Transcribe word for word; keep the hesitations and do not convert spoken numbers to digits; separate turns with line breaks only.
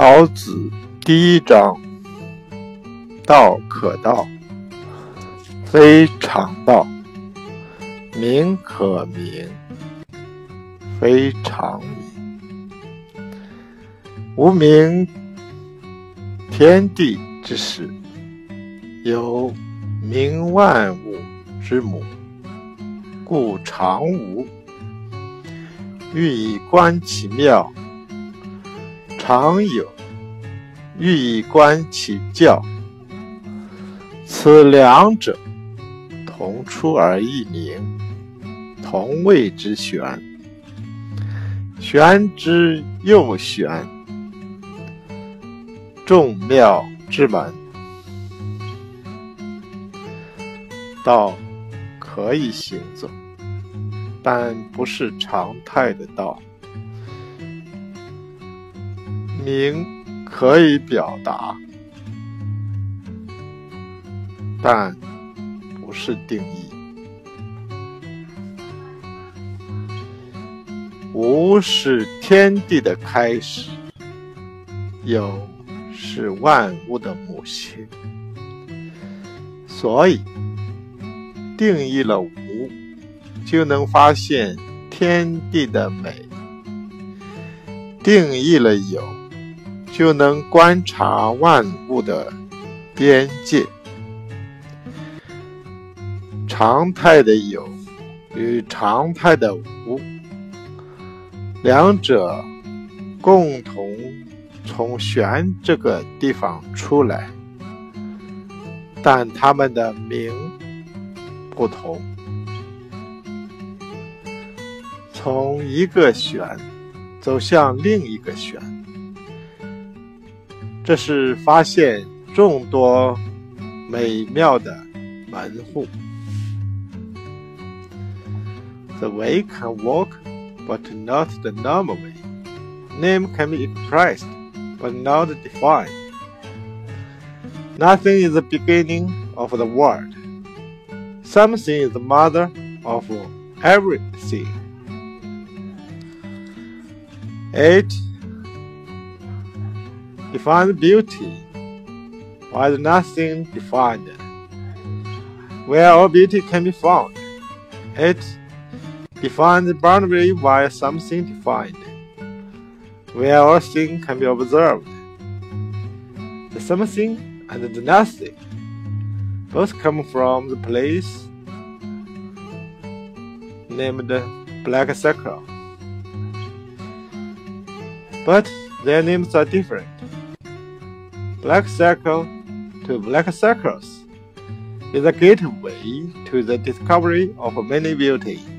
老子第一章：道可道，非常道；名可名，非常名。无名，天地之始，有名万物之母，故常无。欲以观其妙，常有；欲以观其教，此两者，同出而异名，同谓之玄。玄之又玄，众妙之门。道可以行走，但不是常态的道；名可以表达，但不是定义。无是天地的开始，有是万物的母亲。所以定义了无，就能发现天地的美；定义了有，就能观察万物的边界。常态的有与常态的无，两者共同从玄这个地方出来，但它们的名不同。从一个玄走向另一个玄，这是发现众多美妙的门户。The way can walk, but not the normal way. Name can be expressed, but not defined. Nothing is the beginning of the world. Something is the mother of everything. It defines beauty, while nothing defined. Where all beauty can be found, it defines the boundary while something defined. Where all thing can be observed, the something and the nothing both come from the place named black circle. But their names are different. Black circle to black circles is a gateway to the discovery of many beauty.